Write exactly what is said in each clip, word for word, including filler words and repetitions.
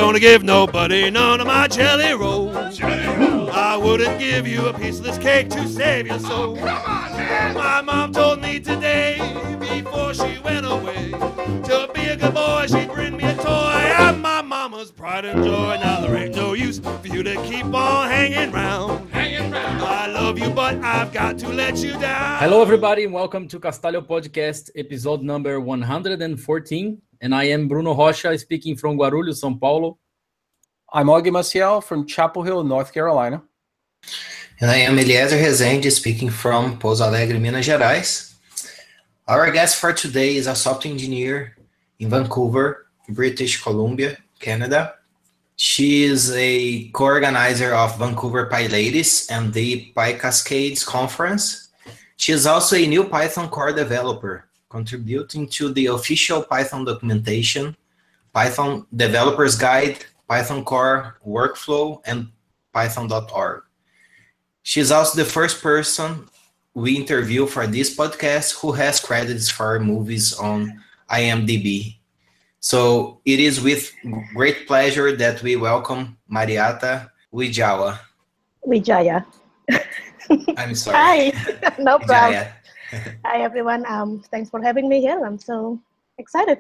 gonna give nobody none of my jelly rolls. Jelly rolls. I wouldn't give you a piece of this cake to save your soul. Oh, come on, man. My mom told me today, before she went away, to be a good boy, she'd bring me a toy. I'm my mama's pride and joy. Now there ain't no use for you to keep on hanging round. Hanging round. I love you, but I've got to let you down. Hello, everybody, and welcome to Castalho Podcast, episode number one hundred fourteen. And I am Bruno Rocha, speaking from Guarulhos, São Paulo. I'm Augie Maciel from Chapel Hill, North Carolina. And I am Eliezer Rezende, speaking from Pouso Alegre, Minas Gerais. Our guest for today is a software engineer in Vancouver, British Columbia, Canada. She is a co-organizer of Vancouver PyLadies and the PyCascades conference. She is also a new Python core developer, contributing to the official Python documentation, Python Developers Guide, Python Core Workflow, and Python dot org. She is also the first person we interview for this podcast who has credits for movies on IMDb. So it is with great pleasure that we welcome Mariata Wijaya. Wijaya. I'm sorry. Hi, no problem. Hi, everyone. Um, thanks for having me here. I'm so excited.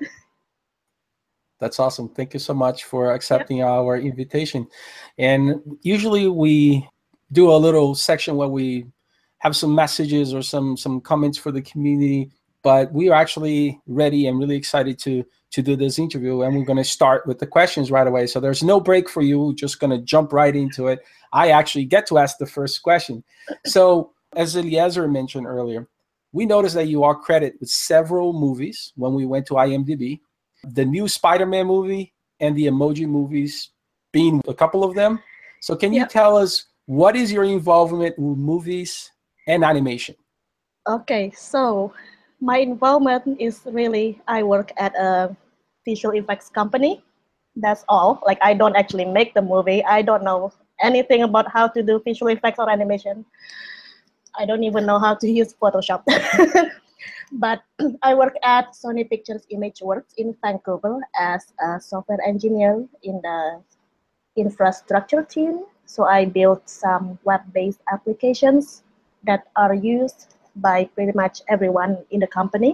That's awesome. Thank you so much for accepting yep. our invitation. And usually we do a little section where we have some messages or some, some comments for the community, but we are actually ready and really excited to, to do this interview. And we're going to start with the questions right away. So there's no break for you. We're just going to jump right into it. I actually get to ask the first question. So as Eliezer mentioned earlier, we noticed that you are credited with several movies when we went to IMDb. The new Spider-Man movie and the Emoji movies being a couple of them. So can you yeah. tell us what is your involvement with movies and animation? Okay, so my involvement is really, I work at a visual effects company. That's all. Like, I don't actually make the movie. I don't know anything about how to do visual effects or animation. I don't even know how to use Photoshop. But I work at Sony Pictures Imageworks in Vancouver as a software engineer in the infrastructure team. So I built some web-based applications that are used by pretty much everyone in the company.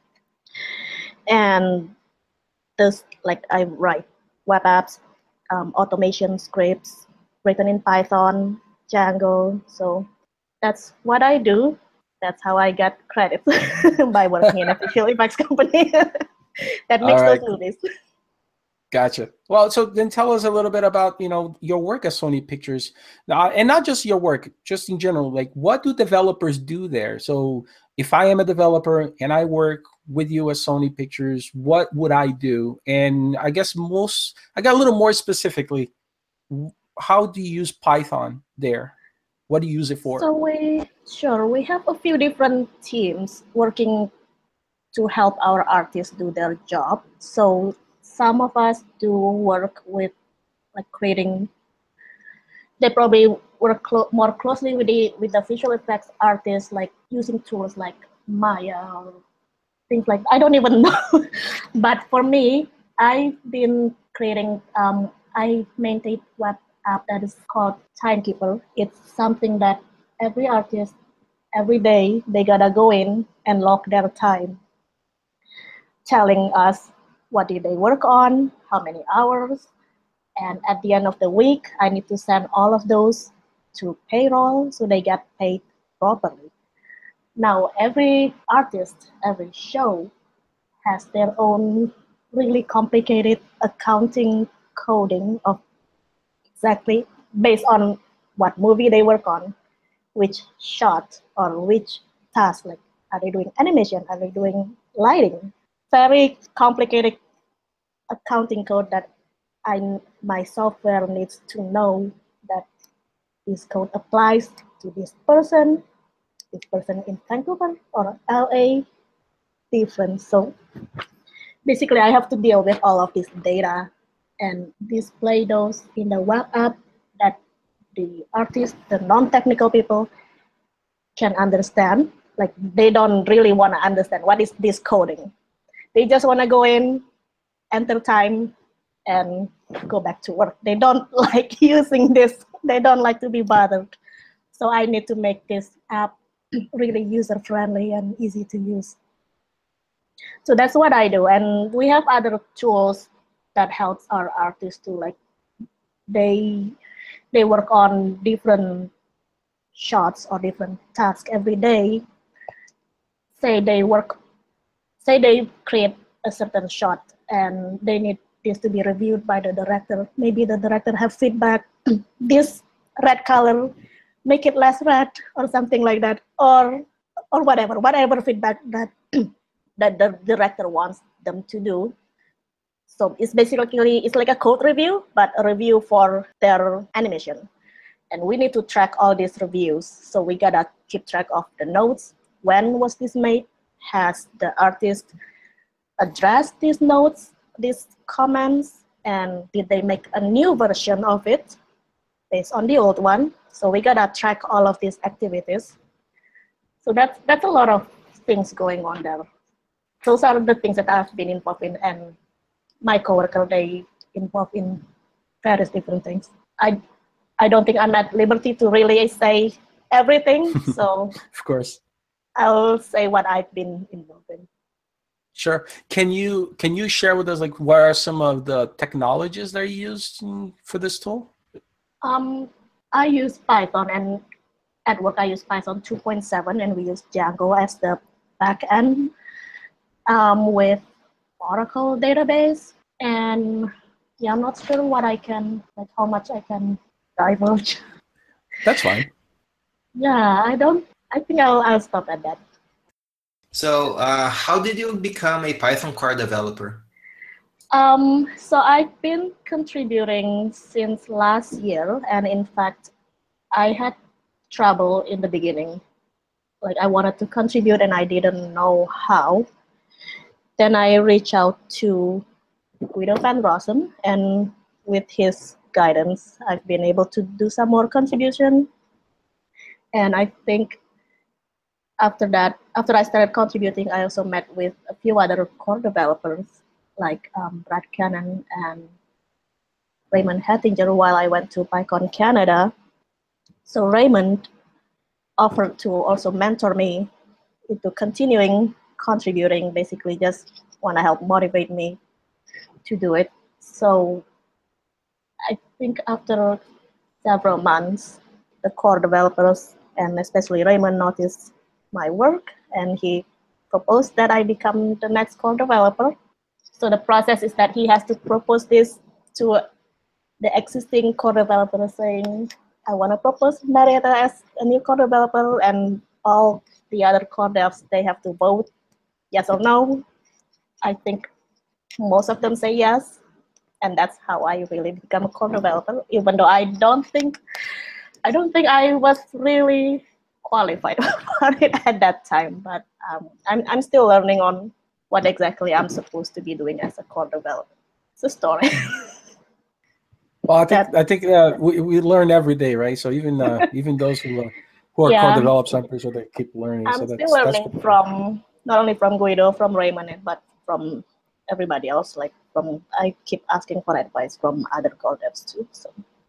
And this, like, I write web apps, um, automation scripts written in Python, Django. So that's what I do. That's how I get credit by working in a visual effects company that makes right. those movies. Gotcha. Well, so then tell us a little bit about, you know, your work at Sony Pictures, uh, and not just your work, just in general. Like, what do developers do there? So if I am a developer and I work with you at Sony Pictures, what would I do? And I guess most, I got a little more specifically, how do you use Python there? What do you use it for? So we, sure, we have a few different teams working to help our artists do their job. So some of us do work with, like, creating, they probably work clo- more closely with the, with the visual effects artists, like using tools like Maya or things like, I don't even know. But for me, I've been creating, um, I maintain web app that is called Timekeeper. It's something that every artist, every day, they gotta go in and log their time, telling us what did they work on, how many hours, and at the end of the week, I need to send all of those to payroll so they get paid properly. Now, every artist, every show has their own really complicated accounting coding of exactly based on what movie they work on, which shot or which task. Like, are they doing animation? Are they doing lighting? Very complicated accounting code that I my software needs to know that this code applies to this person, this person in Vancouver or L A, different. So basically, I have to deal with all of this data and display those in the web app that the artists, the non-technical people can understand. Like, they don't really want to understand what is this coding. They just want to go in, enter time, and go back to work. They don't like using this. They don't like to be bothered. So I need to make this app really user-friendly and easy to use. So that's what I do. And we have other tools that helps our artists to like, they they work on different shots or different tasks every day. Say they work, say they create a certain shot and they need this to be reviewed by the director. Maybe the director have feedback, this red color, make it less red or something like that, or or whatever, whatever feedback that that the director wants them to do. So it's basically, it's like a code review, but a review for their animation. And we need to track all these reviews. So we gotta keep track of the notes. When was this made? Has the artist addressed these notes, these comments? And did they make a new version of it based on the old one? So we gotta track all of these activities. So that's, that's a lot of things going on there. Those are the things that I've been involved in, and my coworker, they involved in various different things. I I don't think I'm at liberty to really say everything, so of course, I'll say what I've been involved in. Sure. Can you can you share with us like what are some of the technologies that are used for this tool? Um, I use Python, and at work I use Python two point seven, and we use Django as the backend um, with Oracle database. And yeah, I'm not sure what I can, like how much I can divulge. That's fine. Yeah, I don't, I think I'll, I'll stop at that. So uh, how did you become a Python core developer? Um, so I've been contributing since last year, and in fact, I had trouble in the beginning. Like I wanted to contribute and I didn't know how. Then I reached out to Guido van Rossum, and with his guidance, I've been able to do some more contribution. And I think after that, after I started contributing, I also met with a few other core developers like um, Brad Cannon and Raymond Hettinger while I went to PyCon Canada. So Raymond offered to also mentor me into continuing contributing, basically just want to help motivate me to do it. So I think after several months, the core developers and especially Raymond noticed my work, and he proposed that I become the next core developer. So the process is that he has to propose this to the existing core developer saying, I want to propose Marietta as a new core developer, and all the other core devs, they have to vote yes or no. I think most of them say yes, and that's how I really become a core developer, even though I don't think, I don't think I was really qualified for it at that time, but um, I'm, I'm still learning on what exactly I'm supposed to be doing as a core developer. It's a story. Well, I think I think uh, we we learn every day, right? So even uh, even those who uh, who are Yeah. core developers, I'm pretty sure they keep learning. I'm so still that's, learning that's from, not only from Guido, from Raymond, but from everybody else. Like from, I keep asking for advice from other core devs too. So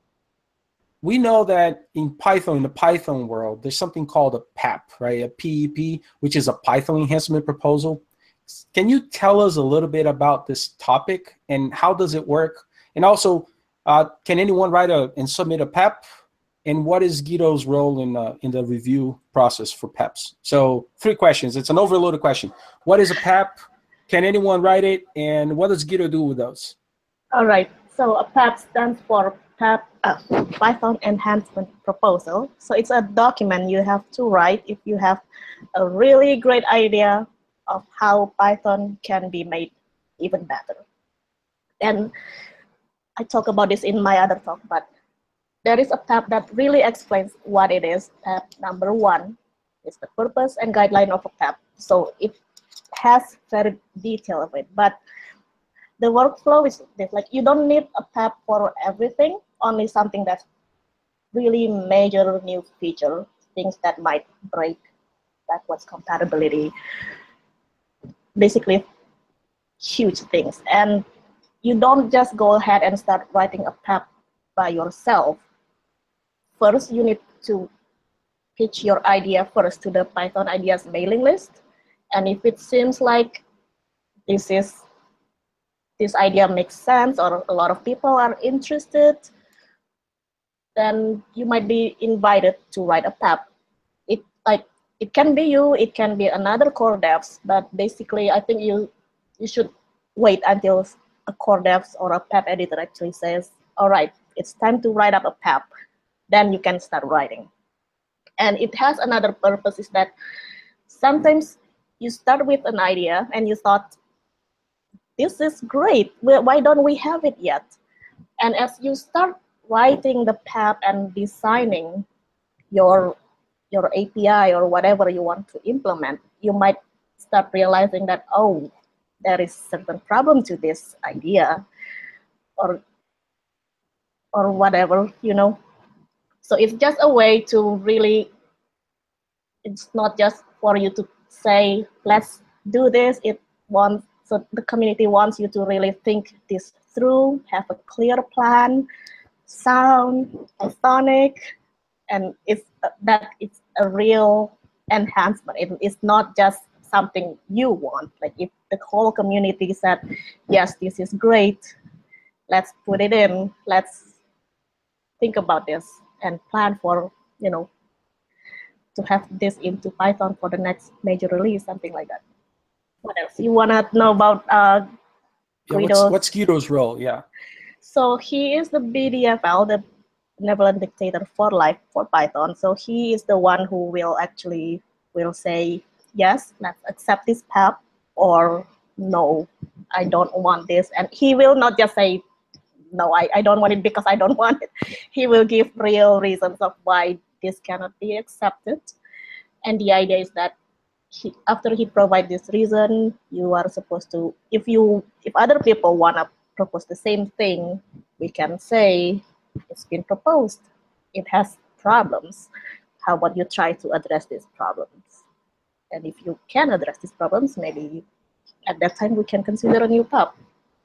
we know that in Python, in the Python world, there's something called a P E P, right? A P E P, which is a Python enhancement proposal. Can you tell us a little bit about this topic and how does it work? And also, uh, can anyone write a and submit a P E P? And what is Guido's role in uh, in the review process for P E Ps? So three questions. It's an overloaded question. What is a P E P? Can anyone write it? And what does Guido do with those? all right. So a P E P stands for P E P, uh, Python Enhancement Proposal. So it's a document you have to write if you have a really great idea of how Python can be made even better. And I talk about this in my other talk, but there is a P E P that really explains what it is. P E P number one is the purpose and guideline of a P E P. So it has very detail of it, but the workflow is like you don't need a P E P for everything, only something that's really major new feature, things that might break backwards compatibility, basically huge things. And you don't just go ahead and start writing a P E P by yourself. First, you need to pitch your idea first to the Python Ideas mailing list. And if it seems like this is this idea makes sense or a lot of people are interested, then you might be invited to write a P E P. It like it can be you, it can be another core devs, but basically I think you you should wait until a core devs or a P E P editor actually says, all right, it's time to write up a P E P. Then you can start writing. And it has another purpose, is that sometimes you start with an idea and you thought, this is great, why don't we have it yet? And as you start writing the P E P and designing your, your A P I or whatever you want to implement, you might start realizing that, oh, there is certain problem to this idea or, or whatever, you know. So it's just a way to really, it's not just for you to say, let's do this. It wants, so the community wants you to really think this through, have a clear plan, sound, Pythonic, and it's that it's a real enhancement. It, it's not just something you want. Like if the whole community said, yes, this is great, let's put it in, let's think about this and plan for, you know, to have this into Python for the next major release, something like that. What else? You want to know about uh, Guido? Yeah, what's, what's Guido's role? Yeah. So he is the B D F L, the benevolent dictator for life for Python. So he is the one who will actually will say, yes, let's accept this P E P, or no, I don't want this. And he will not just say, no, I, I don't want it because I don't want it. He will give real reasons of why this cannot be accepted. And the idea is that he, after he provides this reason, you are supposed to, if you, if other people want to propose the same thing, we can say, it's been proposed, it has problems. How about you try to address these problems? And if you can address these problems, maybe at that time we can consider a new P E P.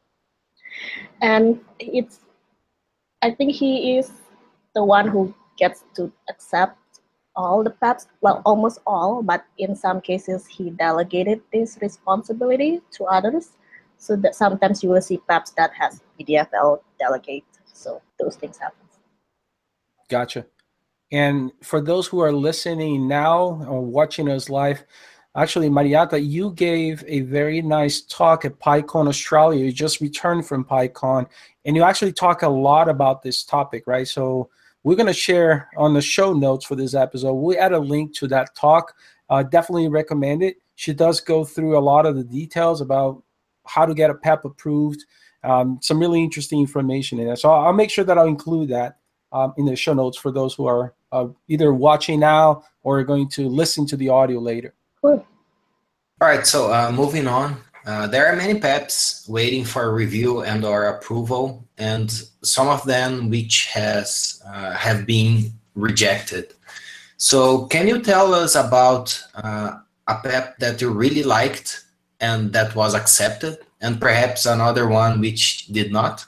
And it's, I think he is the one who gets to accept all the P E Ps, well, almost all, but in some cases he delegated this responsibility to others. So that sometimes you will see P E Ps that has B D F L delegate. So those things happen. Gotcha. And for those who are listening now or watching us live, actually, Mariata, you gave a very nice talk at PyCon Australia. You just returned from PyCon, and you actually talk a lot about this topic, right? So we're going to share on the show notes for this episode. We'll add a link to that talk. Uh, definitely recommend it. She does go through a lot of the details about how to get a P E P approved, um, some really interesting information in there. So I'll make sure that I'll include that um, in the show notes for those who are uh, either watching now or are going to listen to the audio later. Cool. All right, so uh, moving on. Uh, there are many P E Ps waiting for review and or approval, and some of them which has uh, have been rejected. So can you tell us about uh, a P E P that you really liked and that was accepted, and perhaps another one which did not?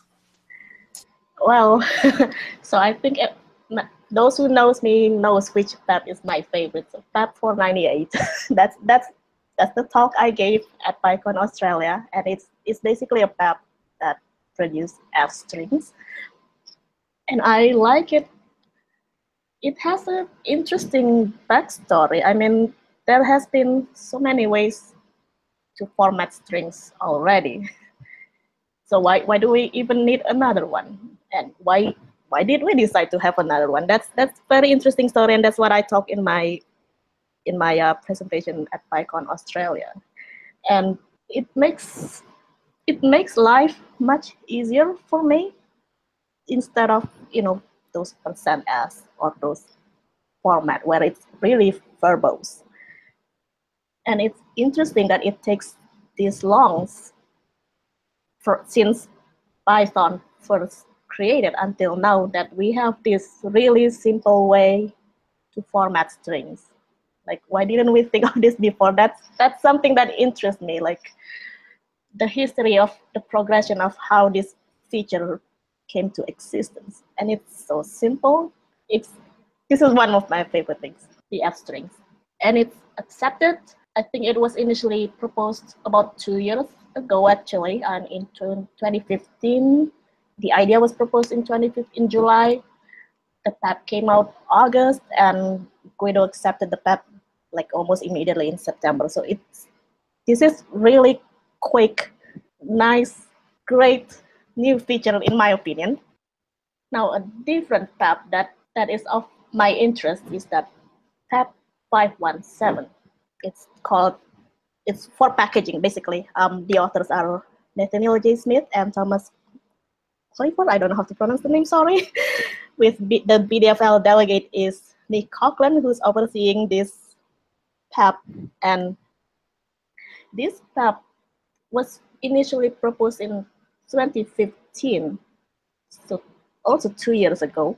Well, so I think it, those who knows me knows which P E P is my favorite. So P E P four ninety-eight. that's that's that's the talk I gave at PyCon Australia, and it's it's basically a P E P that produces F strings, and I like it. It has an interesting backstory. I mean, there has been so many ways to format strings already. So why why do we even need another one? And why why did we decide to have another one? That's that's very interesting story, and that's what I talk in my in my uh, presentation at PyCon Australia. And it makes it makes life much easier for me, instead of, you know, those percent S or those format where it's really verbose. And it's interesting that it takes this long for, since Python first created until now, that we have this really simple way to format strings. Like, why didn't we think of this before? That's that's something that interests me. Like, the history of the progression of how this feature came to existence. And it's so simple. It's this is one of my favorite things, the F strings. And it's accepted. I think it was initially proposed about two years ago, actually, and in twenty fifteen, the idea was proposed in twenty fifteen in July. The P E P came out August, and Guido accepted the P E P like almost immediately in September. So it's this is really quick, nice, great new feature in my opinion. Now a different P E P that, that is of my interest is that P E P five one seven. It's called, it's for packaging basically. Um, the authors are Nathaniel J. Smith and Thomas Clifford, I don't know how to pronounce the name, sorry. With B, the B D F L delegate is Nick Coughlin, who's overseeing this P E P. And this P E P was initially proposed in twenty fifteen, so also two years ago.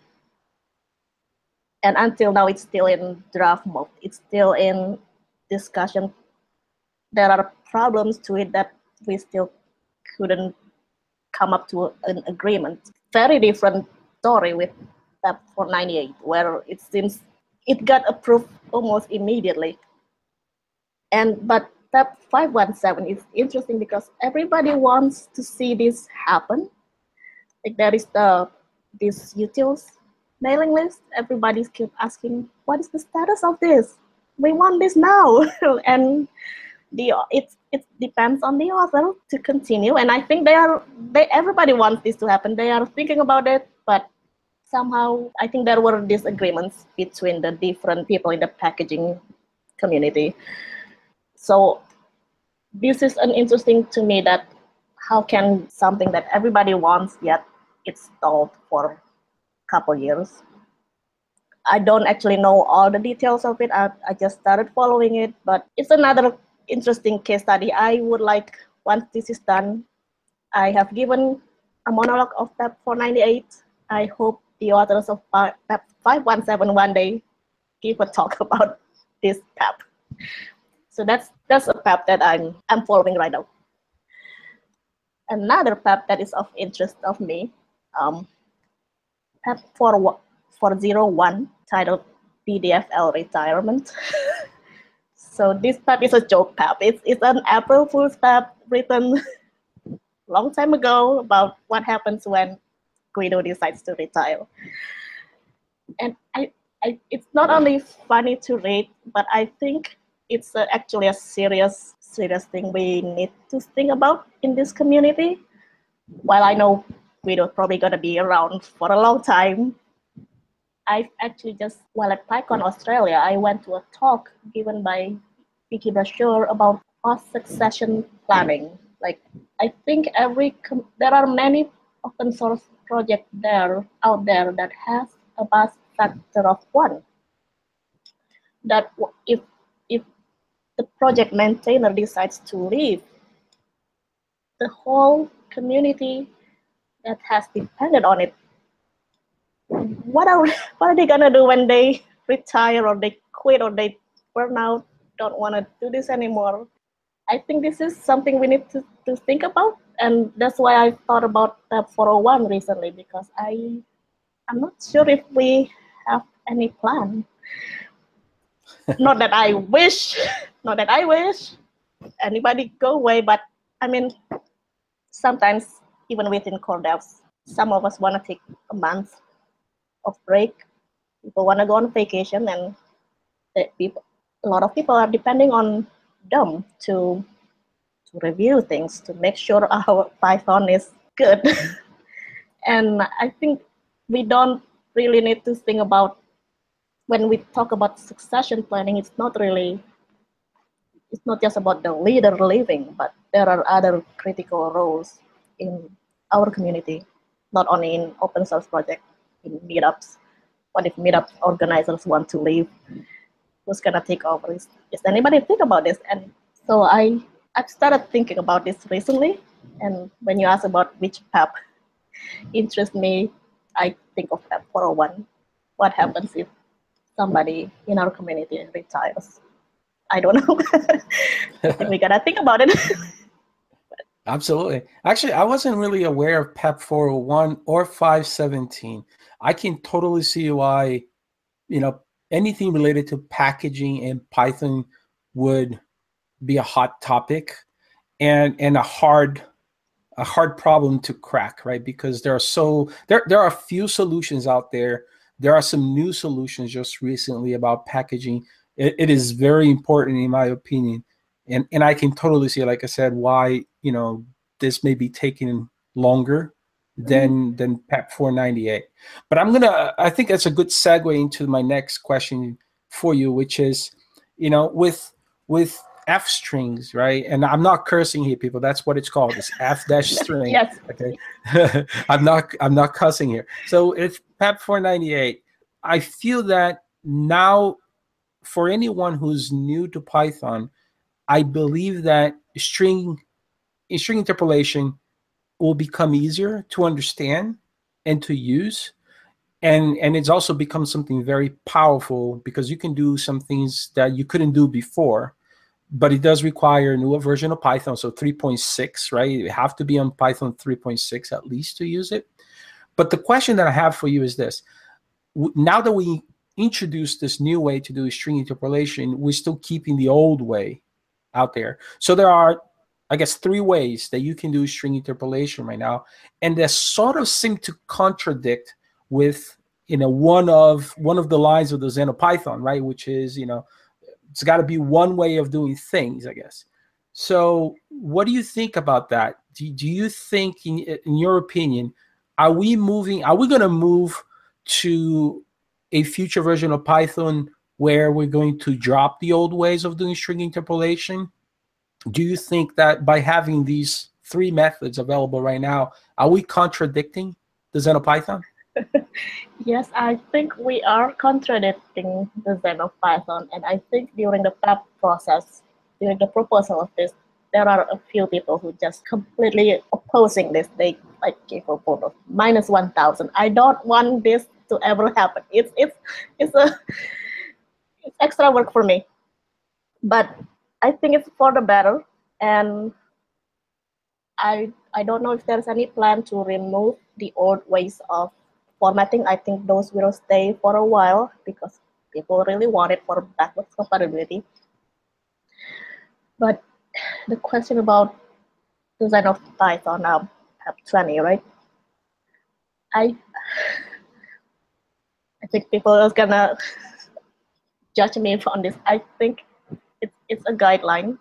And until now, it's still in draft mode. It's still in discussion. There are problems to it that we still couldn't come up to an agreement. Very different story with P E P four ninety-eight, where it seems it got approved almost immediately. And but P E P five one seven is interesting because everybody wants to see this happen. Like there is the this utils mailing list. Everybody's keep asking, what is the status of this? We want this now. And the it it depends on the author to continue. And I think they are they everybody wants this to happen. They are thinking about it, but somehow I think there were disagreements between the different people in the packaging community. So this is an interesting to me that how can something that everybody wants yet it's stalled for a couple years. I don't actually know all the details of it. I, I just started following it, but it's another interesting case study. I would like, once this is done, I have given a monologue of P E P four ninety-eight. I hope the authors of P E P five one seven one day give a talk about this P E P. So that's that's a P E P that I'm I'm following right now. Another P E P that is of interest of me, um, P E P four oh one, titled B D F L Retirement. So this P E P is a joke P E P. It's, it's an April Fool's P E P written a long time ago about what happens when Guido decides to retire. And I, I, it's not only funny to read, but I think it's a, actually a serious, serious thing we need to think about in this community. While I know Guido's probably gonna be around for a long time, I've actually just, while at PyCon Australia, I went to a talk given by Vicky Brasher about post-succession planning. Like, I think every, there are many open source projects there, out there that has a buzz factor of one. That if, if the project maintainer decides to leave, the whole community that has depended on it, what are what are they gonna do when they retire or they quit or they burn out, don't want to do this anymore? I think this is something we need to, to think about, and that's why I thought about P E P four oh one recently, because I I'm not sure if we have any plan. Not that I wish, not that I wish anybody go away, but I mean, sometimes even within core devs, some of us want to take a month of break. People want to go on vacation, and the people, a lot of people are depending on them to to review things, to make sure our Python is good. And I think we don't really need to think about, when we talk about succession planning, it's not really, it's not just about the leader leaving, but there are other critical roles in our community, not only in open source project, in meetups. What if meetup organizers want to leave? Who's gonna take over? Is, is anybody think about this? And so I I've started thinking about this recently. And when you ask about which P E P interests me, I think of P E P four oh one. What happens if somebody in our community retires? I don't know. We gotta think about it. Absolutely. Actually, I wasn't really aware of PEP four oh one or five seventeen. I can totally see why, you know, anything related to packaging in Python would be a hot topic and and a hard a hard problem to crack, right? Because there are so there there are a few solutions out there. There are some new solutions just recently about packaging. It, it is very important in my opinion. And and I can totally see, like I said, why, you know, this may be taking longer than than PEP four ninety-eight. But I'm gonna I think that's a good segue into my next question for you, which is, you know, with with F strings, right? And I'm not cursing here, people. That's what it's called. It's F dash string. Yes. Okay. I'm not I'm not cussing here. So it's PEP four ninety-eight. I feel that now for anyone who's new to Python, I believe that string string interpolation will become easier to understand and to use. And, and it's also become something very powerful because you can do some things that you couldn't do before, but it does require a newer version of Python. So three point six, right? You have to be on Python three point six at least to use it. But the question that I have for you is this. Now that we introduced this new way to do string interpolation, we're still keeping the old way out there. So there are, I guess, three ways that you can do string interpolation right now, and they sort of seem to contradict with, you know, one of one of the lines of the XenoPython, right? Which is, you know, it's got to be one way of doing things, I guess. So, what do you think about that? Do, do you think, in, in your opinion, are we moving? Are we going to move to a future version of Python where we're going to drop the old ways of doing string interpolation? Do you think that by having these three methods available right now, are we contradicting the XenoPython? Yes, I think we are contradicting the XenoPython, and I think during the PEP process, during the proposal of this, there are a few people who just completely opposing this. They like gave a vote of minus one thousand. I don't want this to ever happen. It's it's it's a it's extra work for me, but I think it's for the better, and I I don't know if there's any plan to remove the old ways of formatting. I think those will stay for a while because people really want it for backwards compatibility. But the question about the XenoPython now, PEP twenty, right? I I think people are gonna judge me on this. I think it's it's a guideline.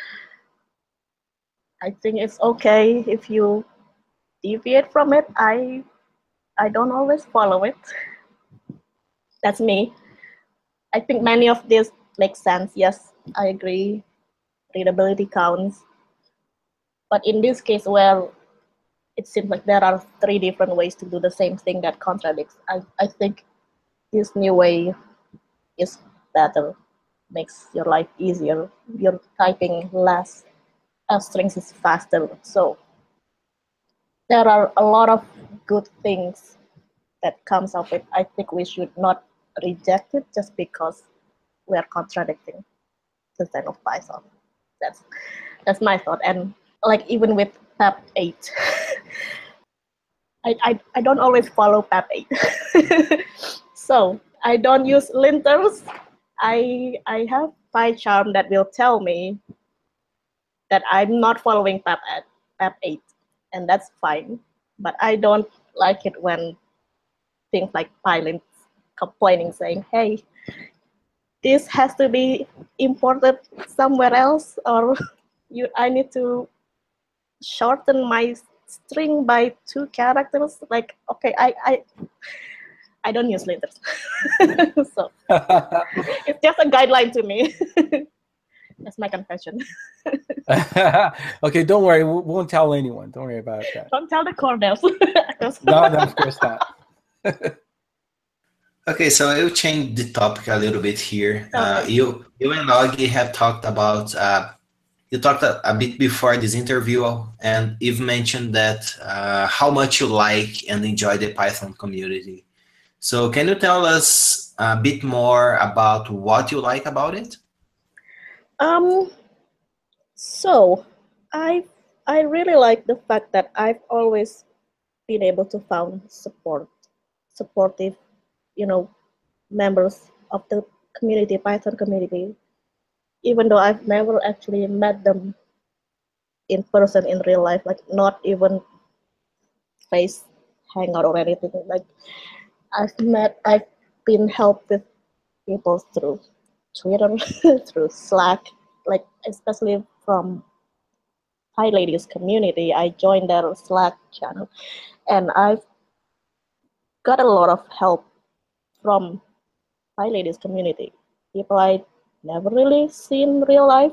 I think it's okay if you deviate from it. I I don't always follow it. That's me. I think many of this makes sense. Yes, I agree. Readability counts. But in this case where it seems like there are three different ways to do the same thing that contradicts, I, I think this new way is better, makes your life easier. You're typing less, F strings is faster. So there are a lot of good things that comes of it. I think we should not reject it just because we are contradicting the XenoPython. That's that's my thought. And like even with PEP eight, I, I I don't always follow PEP eight. So I don't use linters. I I have PyCharm that will tell me that I'm not following PEP eight, and that's fine. But I don't like it when things like Pylint complaining, saying, "Hey, this has to be imported somewhere else, or you I need to shorten my string by two characters." Like, okay, I I I don't use linters, so it's just a guideline to me. That's my confession. Okay, don't worry. We won't tell anyone. Don't worry about that. Don't tell the Cornells. No, no, of course not. Okay, so I will change the topic a little bit here. Okay. Uh, you, you and Augie have talked about, uh, you talked a, a bit before this interview, and you've mentioned that uh, how much you like and enjoy the Python community. So can you tell us a bit more about what you like about it? Um, so I I really like the fact that I've always been able to find support, supportive, you know, members of the community, Python community, even though I've never actually met them in person in real life, like not even face hangout or anything. Like I've met, I've been helped with people through Twitter, through Slack, like especially from PyLadies community. I joined their Slack channel, and I've got a lot of help from PyLadies community. People I never really seen in real life,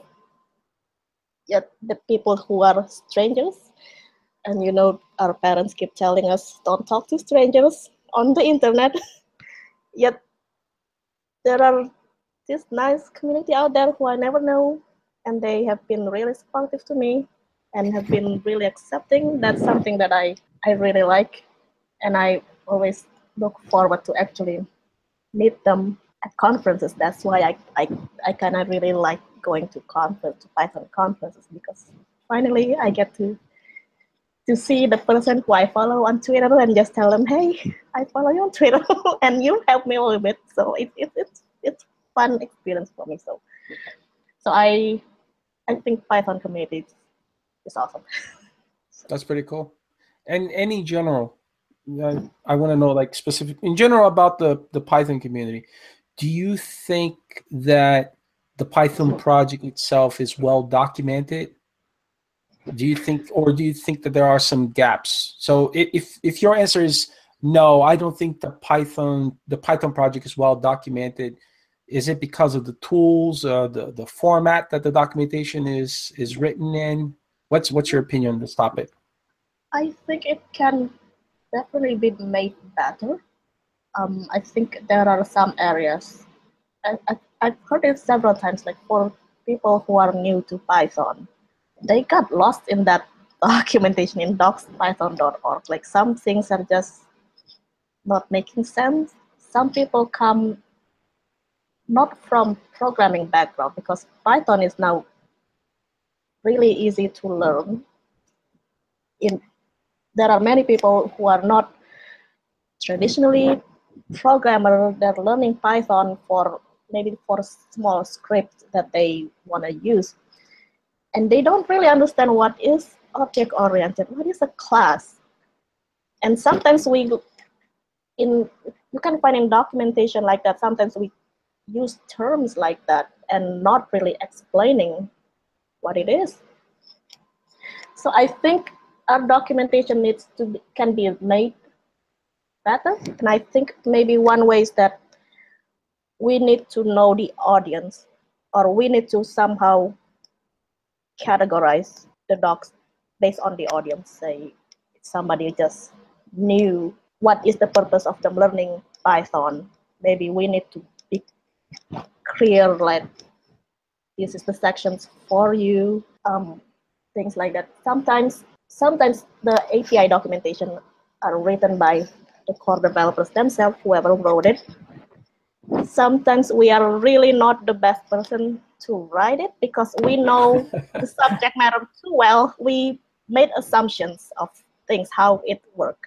yet the people who are strangers. And you know, our parents keep telling us don't talk to strangers on the internet. Yet there are this nice community out there who I never know, and they have been really supportive to me and have been really accepting. That's something that I, I really like, and I always look forward to actually meet them at conferences. That's why I, I, I kind of really like going to conference, to Python conferences, because finally I get to to see the person who I follow on Twitter and just tell them, hey, I follow you on Twitter and you help me a little bit. So it, it, it's it's fun experience for me. So so I I think Python community is awesome. That's pretty cool. And any general, uh, I want to know like specific in general about the, the Python community. Do you think that the Python project itself is well documented? Do you think, or do you think that there are some gaps? So if if your answer is no, I don't think the Python the Python project is well documented. Is it because of the tools, uh, the the format that the documentation is is written in? What's what's your opinion on this topic? I think it can definitely be made better. Um, I think there are some areas. I, I, I've heard it several times, like for people who are new to Python, they got lost in that documentation in docs python dot org. Like some things are just not making sense. Some people come not from programming background, because Python is now really easy to learn. In there are many people who are not traditionally programmer. They're learning Python for maybe for a small script that they want to use. And they don't really understand what is object-oriented, what is a class. And sometimes we, in you can find in documentation like that, sometimes we use terms like that and not really explaining what it is. So I think our documentation needs to be, can be made better. And I think maybe one way is that we need to know the audience, or we need to somehow categorize the docs based on the audience. Say somebody just knew what is the purpose of them learning Python. Maybe we need to be clear, like this is the sections for you, um, things like that. Sometimes, sometimes the A P I documentation are written by the core developers themselves, whoever wrote it. Sometimes we are really not the best person to write it because we know the subject matter too well. We made assumptions of things, how it works.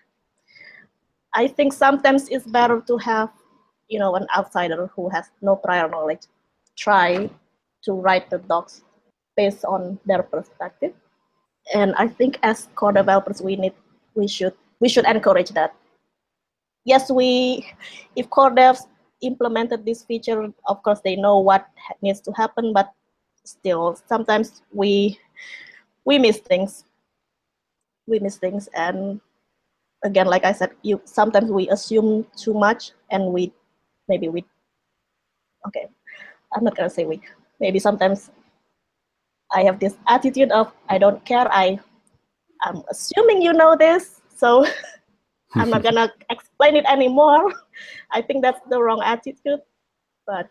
I think sometimes it's better to have, you know, an outsider who has no prior knowledge try to write the docs based on their perspective. And I think as core developers, we need, we should, we should encourage that. Yes, we, if core devs implemented this feature, of course they know what needs to happen, but still sometimes we we miss things. We miss things, and again, like I said, you sometimes we assume too much, and we maybe we okay. I'm not gonna say we. Maybe sometimes I have this attitude of I don't care. I I'm assuming you know this, so I'm not gonna explain it anymore. I think that's the wrong attitude, but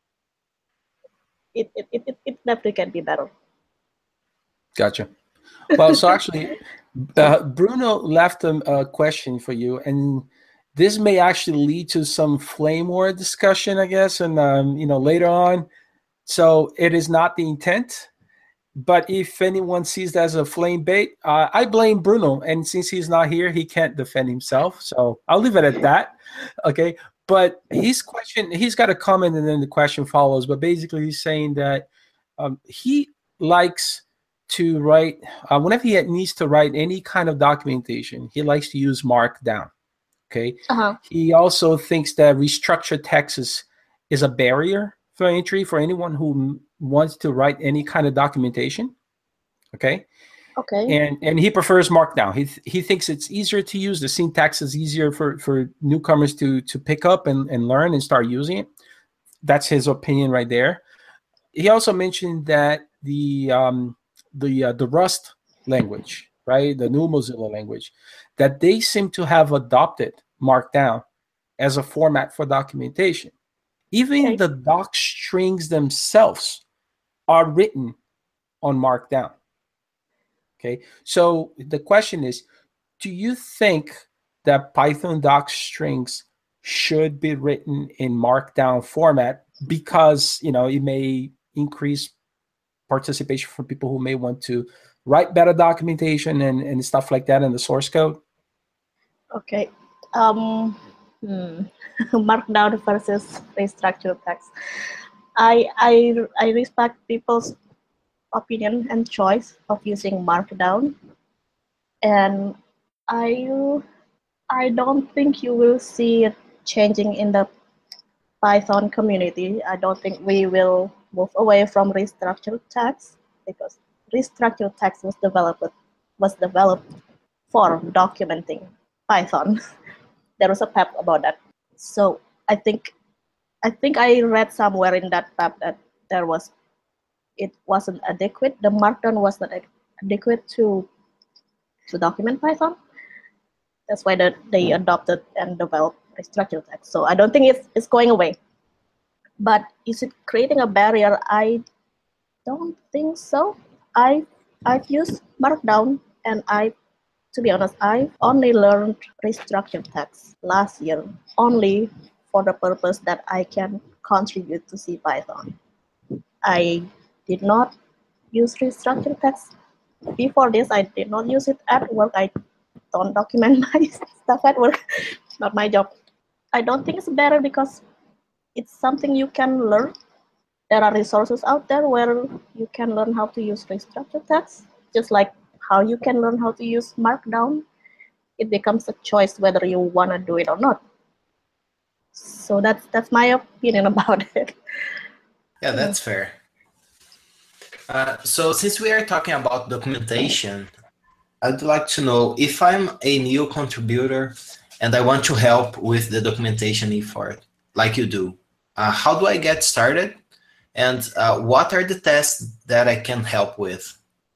it it, it, it definitely can be better. Gotcha. Well, so actually, uh, Bruno left a, a question for you, and this may actually lead to some flame war discussion, I guess, and um, you know, later on. So it is not the intent. but if anyone sees that as a flame bait, uh, I blame Bruno. And since he's not here, he can't defend himself. So I'll leave it at that. Okay. But his question, he's got a comment and then the question follows. But basically, he's saying that um, he likes to write, uh, whenever he needs to write any kind of documentation, he likes to use Markdown. Okay. Uh-huh. He also thinks that restructured text is, is a barrier for entry for anyone who wants to write any kind of documentation. Okay. Okay. And and he prefers Markdown. He th- he thinks it's easier to use. The syntax is easier for, for newcomers to to pick up and, and learn and start using it. That's his opinion right there. He also mentioned that the um the uh, the Rust language, right, the new Mozilla language, that they seem to have adopted Markdown as a format for documentation. Even Okay. the doc strings themselves are written on Markdown. Okay, so the question is, do you think that Python doc strings should be written in Markdown format because, you know, it may increase participation for people who may want to write better documentation and, and stuff like that in the source code? Okay. Um, hmm. Markdown versus restructured text. I I I respect people's opinion and choice of using Markdown, and I I don't think you will see it changing in the Python community. I don't think we will move away from restructured text because restructured text was developed was developed for documenting Python. There was a P E P about that. So I think I think I read somewhere in that P E P that there was it wasn't adequate. The Markdown was not adequate to to document Python. That's why the, they adopted and developed restructured text. So I don't think it's it's going away. But is it creating a barrier? I don't think so. I I've used Markdown, and I, to be honest, I only learned restructured text last year only for the purpose that I can contribute to CPython. I did not use restructured text before this. I did not use it at work. I don't document my stuff at work. Not my job. I don't think it's better because it's something you can learn. There are resources out there where you can learn how to use restructured text, just like how you can learn how to use Markdown. It becomes a choice whether you want to do it or not. So that's that's my opinion about it. Yeah, that's fair. Uh, so since we are talking about documentation, I'd like to know if I'm a new contributor and I want to help with the documentation effort, like you do, uh, how do I get started? And uh, what are the tasks that I can help with?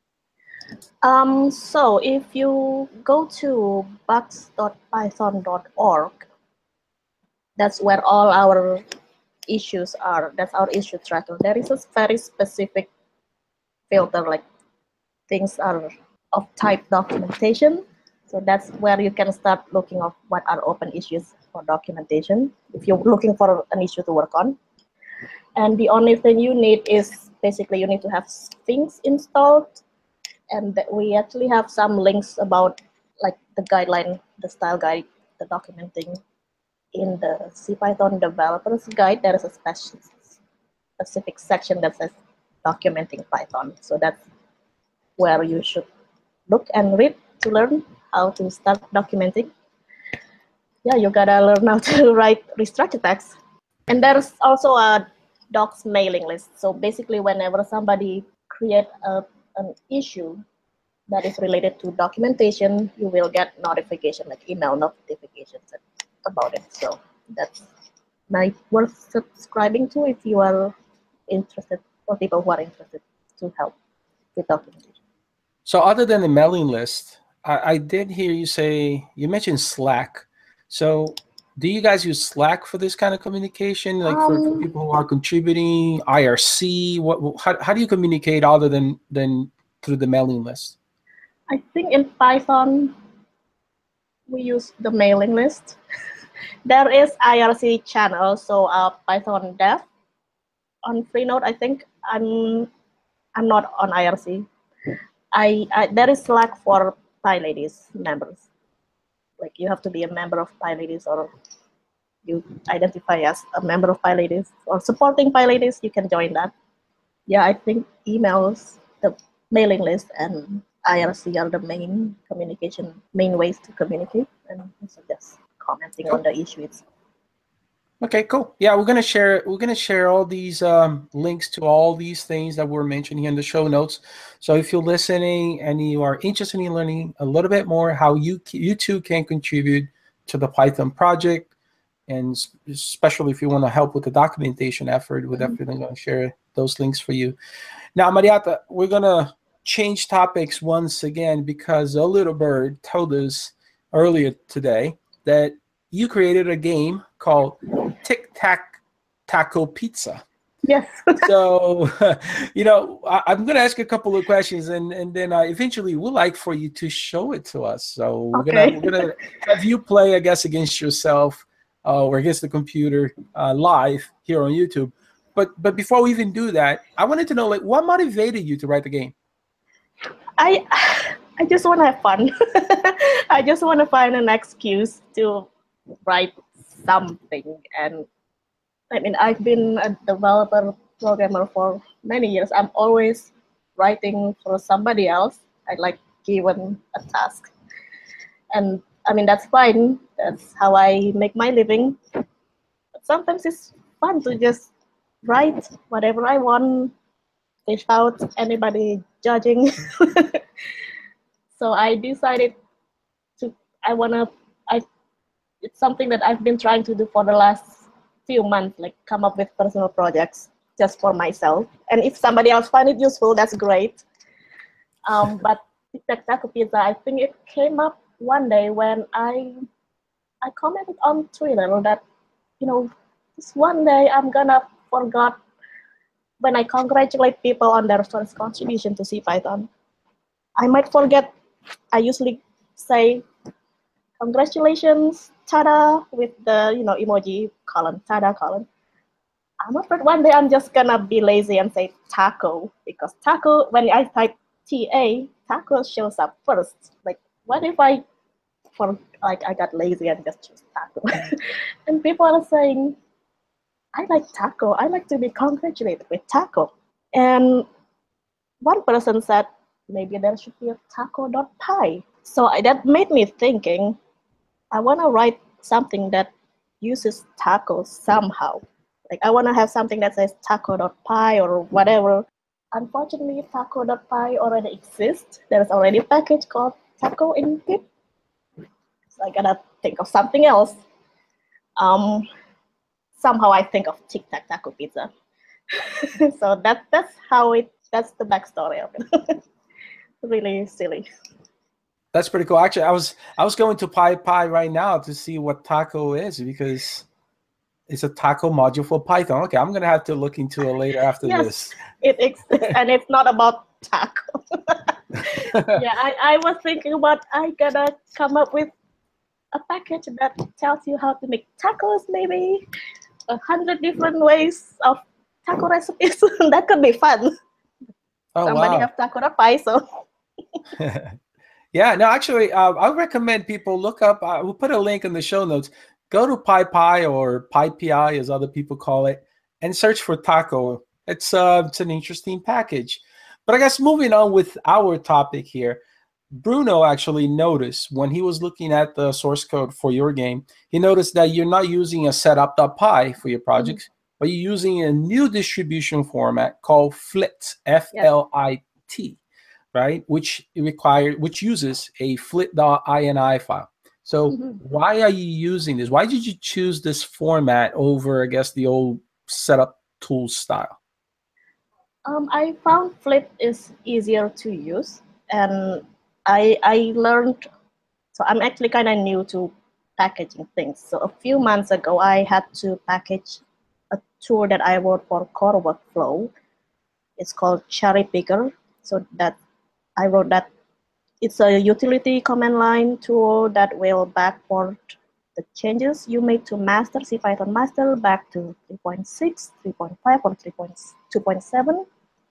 Um, so if you go to bugs dot python dot org, that's where all our issues are. That's our issue tracker. There is a very specific filter, like things are of type documentation. So that's where you can start looking at what are open issues for documentation if you're looking for an issue to work on. And the only thing you need is basically you need to have Sphinx installed, and that we actually have some links about like the guideline, the style guide, the documenting in the CPython developers guide. There is a special, specific section that says documenting Python. So that's where you should look and read to learn how to start documenting. Yeah, you gotta learn how to write restructured text. And there's also a docs mailing list. So basically whenever somebody create a, an issue that is related to documentation, you will get notification, like email notifications about it. So that's nice, worth subscribing to if you are interested, or people who are interested to help with documentation. So other than the mailing list, I, I did hear you say, you mentioned Slack. So do you guys use Slack for this kind of communication? Like um, for, for people who are contributing, I R C, what, how, how do you communicate other than, than through the mailing list? I think in Python, we use the mailing list. There is I R C channel, so uh, Python Dev on Freenode, I think. I'm I'm not on I R C. I, I there is Slack for PyLadies members. Like you have to be a member of PyLadies, or you identify as a member of PyLadies or supporting PyLadies, you can join that. Yeah, I think emails, the mailing list, and I R C are the main communication, main ways to communicate, and also just commenting cool. on the issue itself. Okay, cool. Yeah, we're gonna share. We're gonna share all these um, links to all these things that were mentioned here in the show notes. So if you're listening and you are interested in learning a little bit more how you you too can contribute to the Python project, and especially if you want to help with the documentation effort, we're definitely going to share those links for you. Now, Mariata, we're gonna change topics once again because a little bird told us earlier today that you created a game called Tic Tac Taco Pizza. Yes. So, you know, I, I'm going to ask you a couple of questions, and, and then uh, eventually we'd like for you to show it to us. So we're okay. going we're gonna have you play, I guess, against yourself uh, or against the computer uh, live here on YouTube. But but before we even do that, I wanted to know, like, what motivated you to write the game? I I just want to have fun. I just want to find an excuse to write something. And I mean, I've been a developer programmer for many years. I'm always writing for somebody else. I like given a task. And I mean, that's fine. That's how I make my living. But sometimes it's fun to just write whatever I want without anybody judging. So I decided to, I want to, I, it's something that I've been trying to do for the last few months, like come up with personal projects just for myself. And if somebody else find it useful, that's great. Um, but Tic Tac Taco Pizza, I think it came up one day when I, I commented on Twitter that, you know, this one day I'm gonna forget when I congratulate people on their first contribution to CPython. I might forget. I usually say, congratulations, tada, with the, you know, emoji column, tada column. I'm afraid one day I'm just gonna be lazy and say taco, because taco, when I type T A, taco shows up first. Like, what if I, for like, I got lazy and just choose taco? And people are saying, I like taco. I like to be congratulated with taco. And one person said, maybe there should be a taco.py. So I, that made me thinking, I want to write something that uses taco somehow. Like, I want to have something that says taco.py or whatever. Unfortunately, taco.py already exists. There's already a package called taco in pip. So I gotta think of something else. Um, somehow I think of Tic Tac Taco Pizza. So that that's how it, that's the backstory of it. Really silly. That's pretty cool. Actually, I was I was going to PyPy right now to see what taco is, because it's a taco module for Python. Okay, I'm gonna have to look into it later after yes, this. It exists, and it's not about taco. Yeah, I, I was thinking about I gotta come up with a package that tells you how to make tacos, maybe a hundred different ways of taco recipes. That could be fun. Oh, Somebody wow. have taco.py, so. Yeah, no, actually, uh, I would recommend people look up, uh, we'll put a link in the show notes. Go to PyPy or PyPI, as other people call it, and search for taco. It's, uh, it's an interesting package. But I guess moving on with our topic here, Bruno actually noticed when he was looking at the source code for your game, he noticed that you're not using a setup.py for your projects, mm-hmm. but you're using a new distribution format called Flit, F L I T, right? Which require, which uses a flit.ini file. So mm-hmm. why are you using this? Why did you choose this format over, I guess, the old setup tool style? Um, I found Flit is easier to use, and I I learned, so I'm actually kind of new to packaging things. So a few months ago, I had to package a tool that I wrote for Core Workflow. It's called Cherry Picker. So that I wrote that. It's a utility command line tool that will backport the changes you made to master, CPython master, back to three point six, three point five, or two point seven.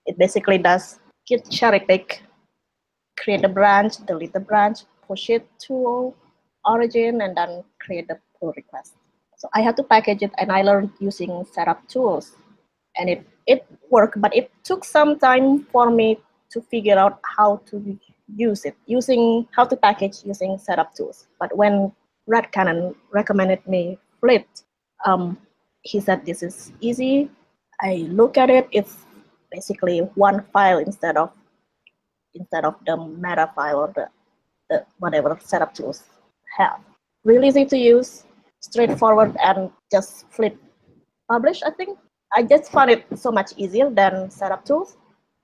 it basically does git cherry pick, create a branch, delete the branch, push it to origin, and then create the pull request. So I had to package it, and I learned using setup tools, and it, it worked, but it took some time for me to figure out how to use it, using how to package using setup tools. But when Red Cannon recommended me Flit, um, he said this is easy. I look at it, it's basically one file instead of instead of the meta file or the, the whatever setup tools have. Really easy to use, straightforward, and just Flit publish, I think. I just found it so much easier than setup tools.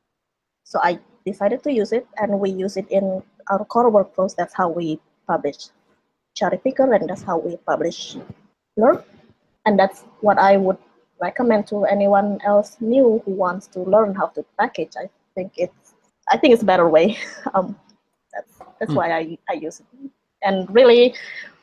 So I decided to use it, and we use it in our core workflows. That's how we publish Cherry Picker, and that's how we publish Learn. And that's what I would recommend to anyone else new who wants to learn how to package. I think it's I think it's a better way. um, that's that's mm. why I, I use it. And really,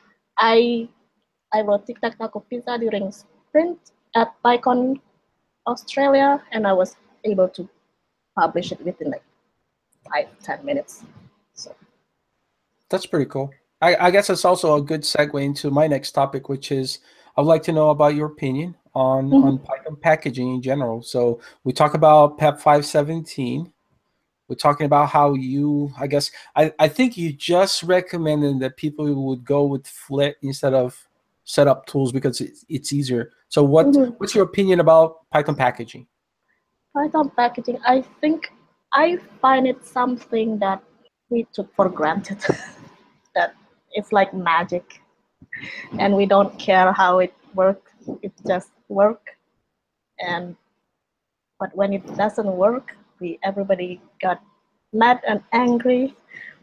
I I wrote Tic Tac Taco Pizza during sprint at PyCon Australia, and I was able to publish it within like five, ten minutes. So that's pretty cool. I, I guess it's also a good segue into my next topic, which is I would like to know about your opinion on, mm-hmm. on Python packaging in general. So we talk about P E P five seventeen. We're talking about how you, I guess, I, I think you just recommended that people would go with Flit instead of setup tools because it's, it's easier. So what mm-hmm. what's your opinion about Python packaging? Python packaging, I think I find it something that we took for granted, that it's like magic, and we don't care how it works, it just works. And but when it doesn't work, we everybody got mad and angry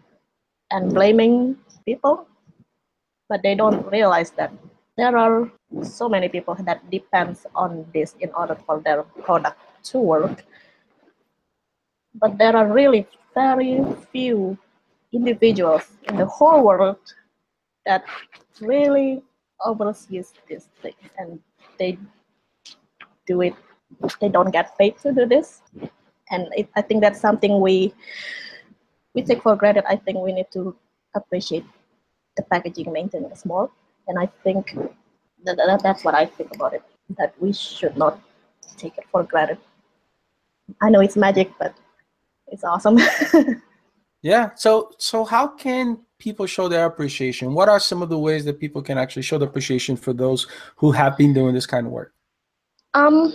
and blaming people, but they don't realize that there are so many people that depends on this in order for their product to work. But there are really very few individuals in the whole world that really oversees this thing, and they do it, they don't get paid to do this. And it, I think that's something we we take for granted. I think we need to appreciate the packaging maintenance more. And I think that, that that's what I think about it, that we should not take it for granted. I know it's magic, but it's awesome. Yeah. So so how can people show their appreciation? What are some of the ways that people can actually show the appreciation for those who have been doing this kind of work? Um,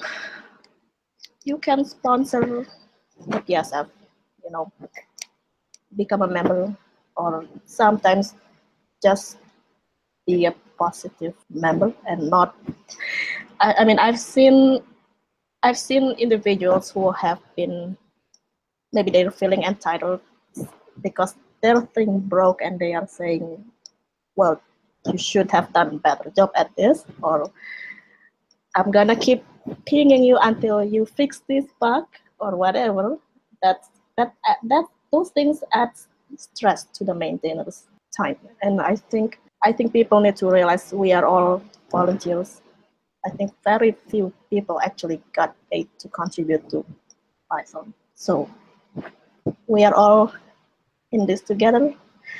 you can sponsor the P S F, you know, become a member, or sometimes just be a positive member and not. I, I mean, I've seen, I've seen individuals who have been, maybe they're feeling entitled because their thing broke, and they are saying, "Well, you should have done a better job at this," or "I'm gonna keep pinging you until you fix this bug," or whatever. That's that that those things add stress to the maintainers' time, and I think I think people need to realize we are all volunteers. I think very few people actually got paid to contribute to Python, so we are all in this together.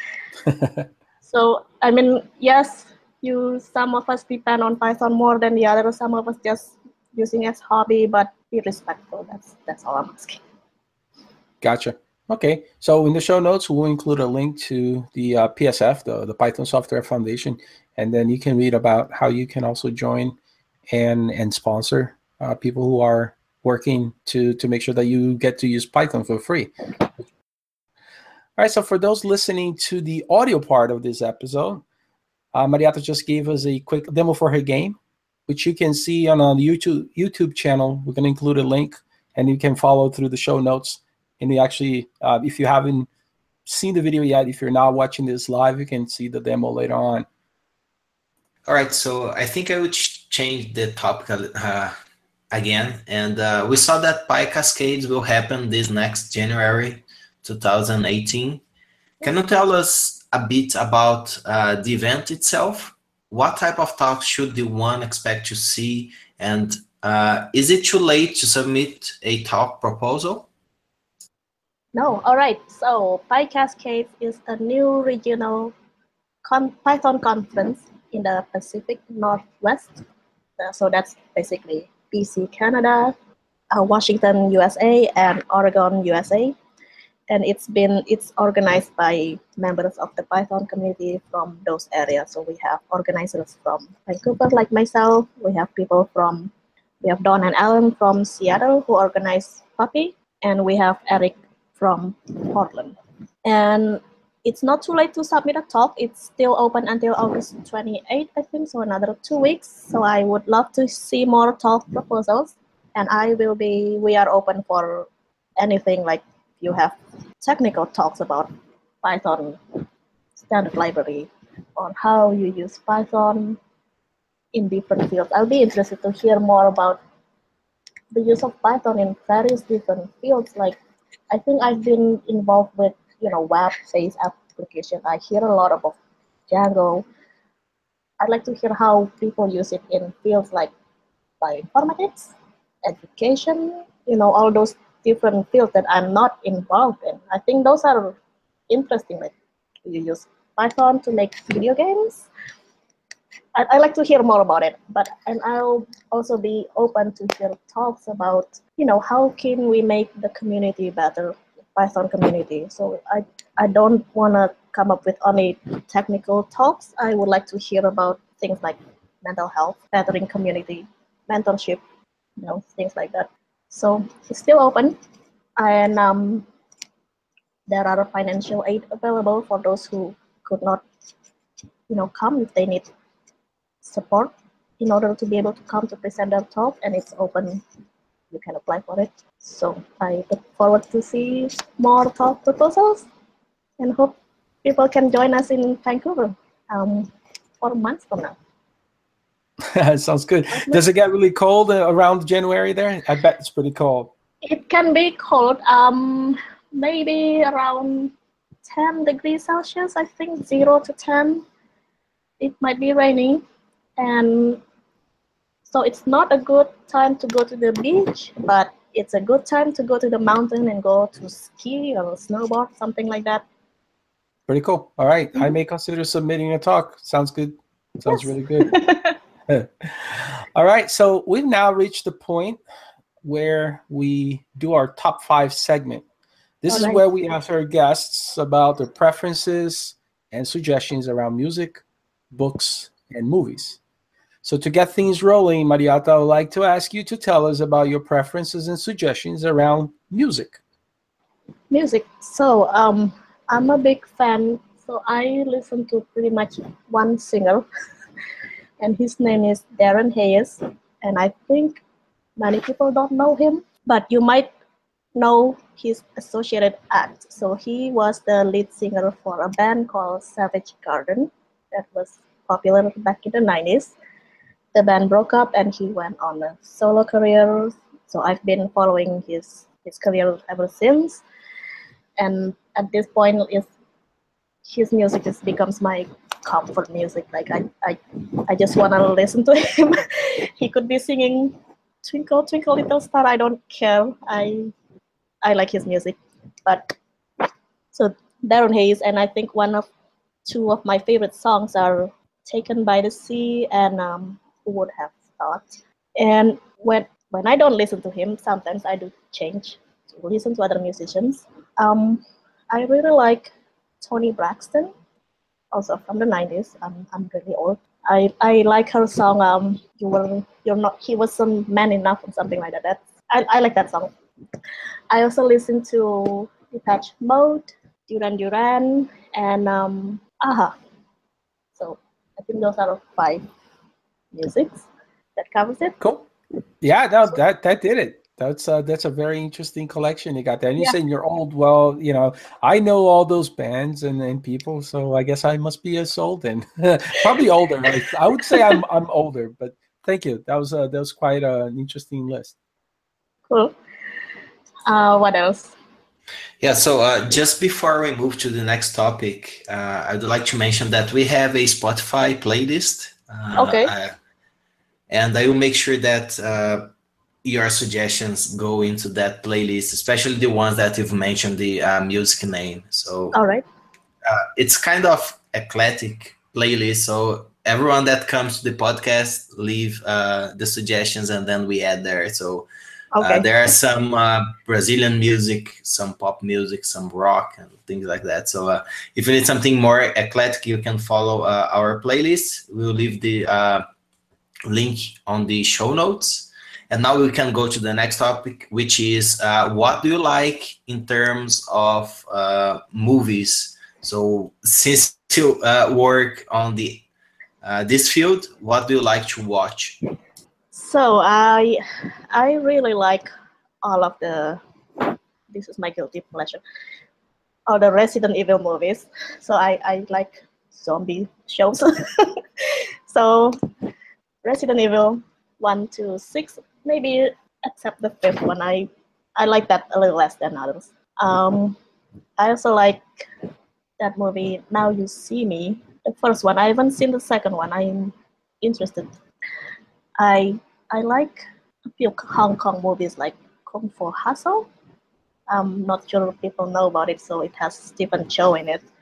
So I mean, yes, you some of us depend on Python more than the others. Some of us just using as hobby, but be respectful. That's that's all I'm asking. Gotcha. Okay. So in the show notes, we'll include a link to the uh, P S F, the, the Python Software Foundation, and then you can read about how you can also join and and sponsor uh, people who are working to to make sure that you get to use Python for free. All right. So for those listening to the audio part of this episode, uh, Mariata just gave us a quick demo for her game, which you can see on a YouTube YouTube channel. We're going to include a link, and you can follow through the show notes. And you actually, uh, if you haven't seen the video yet, if you're not watching this live, you can see the demo later on. All right, so I think I would ch- change the topic uh, again. And uh, we saw that PyCascades will happen this next January two thousand eighteen. Can you tell us a bit about uh, the event itself? What type of talks should the one expect to see? And uh, is it too late to submit a talk proposal? No, all right. So PyCascade is a new regional con- Python conference in the Pacific Northwest. Uh, so that's basically B C, Canada, uh, Washington, U S A, and Oregon, U S A. And it's been it's organized by members of the Python community from those areas. So we have organizers from Vancouver, like myself. We have people from we have Don and Alan from Seattle who organize Puppy, and we have Eric from Portland. And it's not too late to submit a talk. It's still open until August twenty-eighth, I think, so another two weeks. So I would love to see more talk proposals. And I will be, we are open for anything, like you have technical talks about Python standard library, on how you use Python in different fields. I'll be interested to hear more about the use of Python in various different fields. Like, I think I've been involved with, you know, web-based application. I hear a lot about Django. I'd like to hear how people use it in fields like bioinformatics, education, you know, all those different fields that I'm not involved in. I think those are interesting. Like, you use Python to make video games. I, I like to hear more about it, but and I'll also be open to hear talks about, you know, how can we make the community better, Python community. So I I don't want to come up with only technical talks. I would like to hear about things like mental health, bettering community, mentorship, you know, things like that. So it's still open, and um, there are financial aid available for those who could not, you know, come if they need support in order to be able to come to present their talk, and it's open. You can apply for it. So I look forward to see more talk proposals, and hope people can join us in Vancouver um, four months from now. Sounds good. Does it get really cold around January there? I bet it's pretty cold. It can be cold, um, maybe around ten degrees Celsius, I think, zero to ten. It might be raining. And so it's not a good time to go to the beach, but it's a good time to go to the mountain and go to ski or snowboard, something like that. Pretty cool. All right. Mm-hmm. I may consider submitting a talk. Sounds good. Sounds yes. really good. All right. So we've now reached the point where we do our top five segment. This All is right. where we ask our guests about their preferences and suggestions around music, books, and movies. So to get things rolling, Mariata, I would like to ask you to tell us about your preferences and suggestions around music. Music. So um, I'm a big fan. So I listen to pretty much one singer, and his name is Darren Hayes. And I think many people don't know him, but you might know his associated act. So he was the lead singer for a band called Savage Garden that was popular back in the nineties. The band broke up and he went on a solo career. So I've been following his, his career ever since. And at this point, is his music just becomes my comfort music. Like I, I, I just want to listen to him. He could be singing Twinkle, Twinkle, Little Star. I don't care. I, I like his music. But so Darren Hayes, and I think one of two of my favorite songs are Taken by the Sea and um, Who Would Have Thought. And when when I don't listen to him, sometimes I do change to listen to other musicians. Um, I really like Toni Braxton, also from the nineties. I'm I'm really old. I, I like her song. Um, you were you're not. He wasn't man enough, or something like that. That's, I I like that song. I also listen to Depeche Mode, Duran Duran, and um, Aha. So I think those are five musics that covers it. Cool. Yeah, no, that that did it. That's uh, that's a very interesting collection you got there. And you yeah. said you're old. Well, you know, I know all those bands and, and people, so I guess I must be as old then. Probably older. I, I would say I'm I'm older, but thank you. That was uh, that was quite uh, an interesting list. Cool. Uh, what else? Yeah, so uh, just before we move to the next topic, uh, I'd like to mention that we have a Spotify playlist. Uh, okay. Uh, and I will make sure that uh, your suggestions go into that playlist, especially the ones that you've mentioned the uh, music name. So All right. uh, it's kind of eclectic playlist. So everyone that comes to the podcast leave uh, the suggestions, and then we add there. So Okay. uh, there are some uh, Brazilian music, some pop music, some rock, and things like that. So uh, if you need something more eclectic, you can follow uh, our playlist. We'll leave the uh, link on the show notes. And now we can go to the next topic, which is uh, what do you like in terms of uh, movies? So since you uh, work on the uh, this field, what do you like to watch? So I I really like all of the, this is my guilty pleasure, all the Resident Evil movies. So I, I like zombie shows. So Resident Evil one to six, maybe except the fifth one. I I like that a little less than others. Um, I also like that movie Now You See Me. The first one. I haven't seen the second one. I'm interested. I I like a few Hong Kong movies like Kung Fu Hustle. I'm not sure if people know about it, so it has Stephen Chow in it.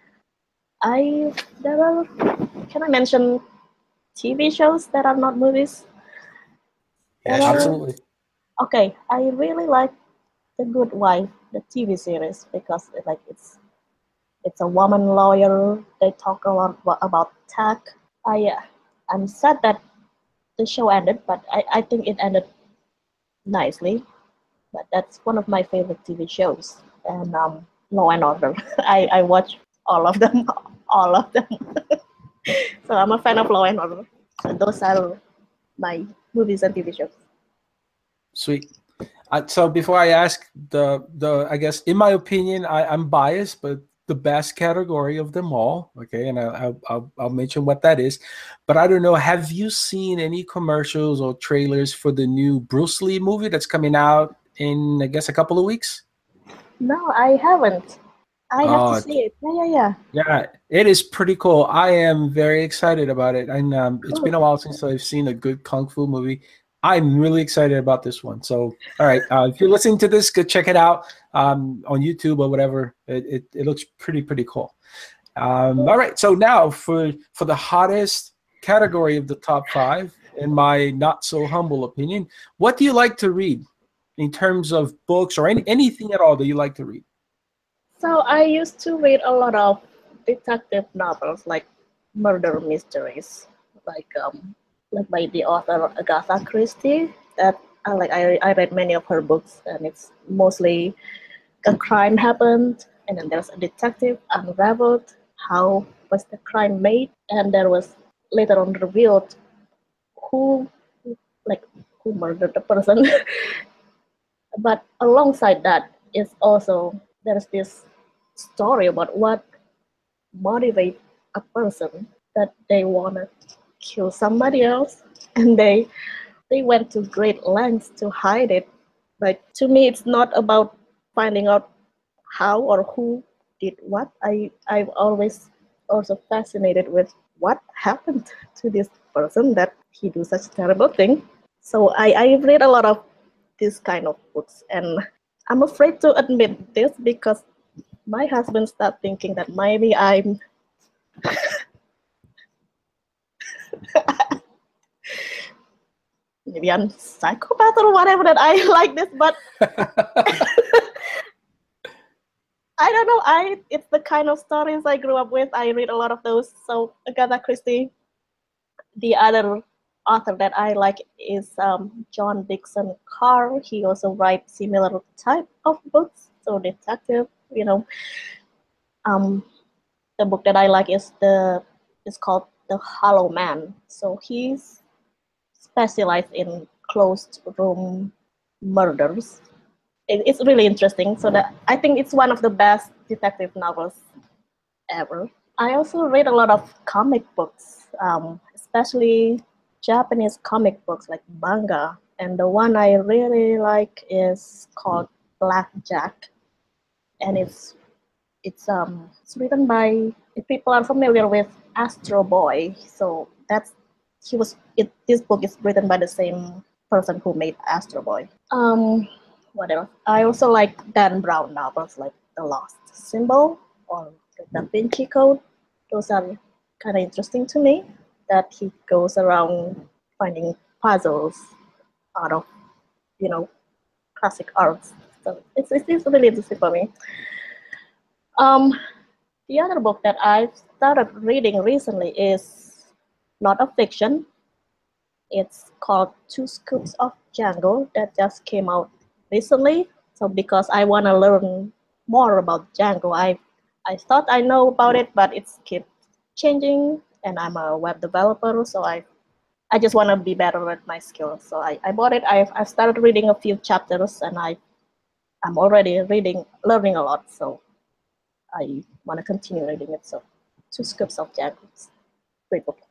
I there are, can I mention T V shows that are not movies? Yeah, There are- sure. Absolutely. Okay, I really like The Good Wife, the T V series, because it, like it's it's a woman lawyer. They talk a lot wa- about tech. I uh, I'm sad that the show ended, but I, I think it ended nicely. But that's one of my favorite T V shows. And um, Law and Order. I, I watch all of them, all of them. So I'm a fan of Law and Order. So those are my movies and T V shows. Sweet. Uh, so before I ask the the, I guess in my opinion, I, I'm biased, but the best category of them all. Okay, and I, I, I'll I'll mention what that is. But I don't know. Have you seen any commercials or trailers for the new Bruce Lee movie that's coming out in, I guess, a couple of weeks? No, I haven't. I have Oh, to see it. Yeah, yeah, yeah. yeah, it is pretty cool. I am very excited about it. And um, it's Cool. been a while since I've seen a good kung fu movie. I'm really excited about this one. So, all right, uh, if you're listening to this, go check it out um, on YouTube or whatever. It, it, it looks pretty, pretty cool. Um, all right, so now for for the hottest category of the top five, in my not so humble opinion, what do you like to read in terms of books or any, anything at all that you like to read? So I used to read a lot of detective novels, like murder mysteries, like um, like by the author Agatha Christie. That I like. I I read many of her books, and it's mostly a crime happened, and then there's a detective unraveled how was the crime made, and there was later on revealed who like who murdered the person. But alongside that is also there's this story about what motivates a person that they want to kill somebody else, and they they went to great lengths to hide it. Like, to me, it's not about finding out how or who did what. I I'm always also fascinated with what happened to this person that he do such terrible thing. So I I read a lot of this kind of books, and I'm afraid to admit this because my husband started thinking that maybe I'm maybe I'm psychopath or whatever, that I like this, but I don't know. I it's the kind of stories I grew up with. I read a lot of those. So Agatha Christie. The other author that I like is um, John Dixon Carr. He also writes similar type of books, so detective. You know, um, the book that I like is the is called The Hollow Man. So he's specialized in closed room murders. It, it's really interesting. So that I think it's one of the best detective novels ever. I also read a lot of comic books, um, especially Japanese comic books like manga. And the one I really like is called Black Jack, and it's it's um it's written by, if people are familiar with Astro Boy. So that's he was it. This book is written by the same person who made Astro Boy. Um, what else? I also like Dan Brown novels like The Lost Symbol or The Da Vinci Code. Those are kind of interesting to me, that he goes around finding puzzles out of, you know, classic arts. So it's, it's really interesting for me. Um, the other book that I've started reading recently is not a fiction. It's called Two Scoops of Django, that just came out recently. So because I want to learn more about Django, I I thought I know about it, but it's keep changing, and I'm a web developer, so I I just want to be better at my skills. So I, I bought it. I've, I've started reading a few chapters, and I, I'm already reading, learning a lot. So I want to continue reading it. So Two Scoops of Django. Great book.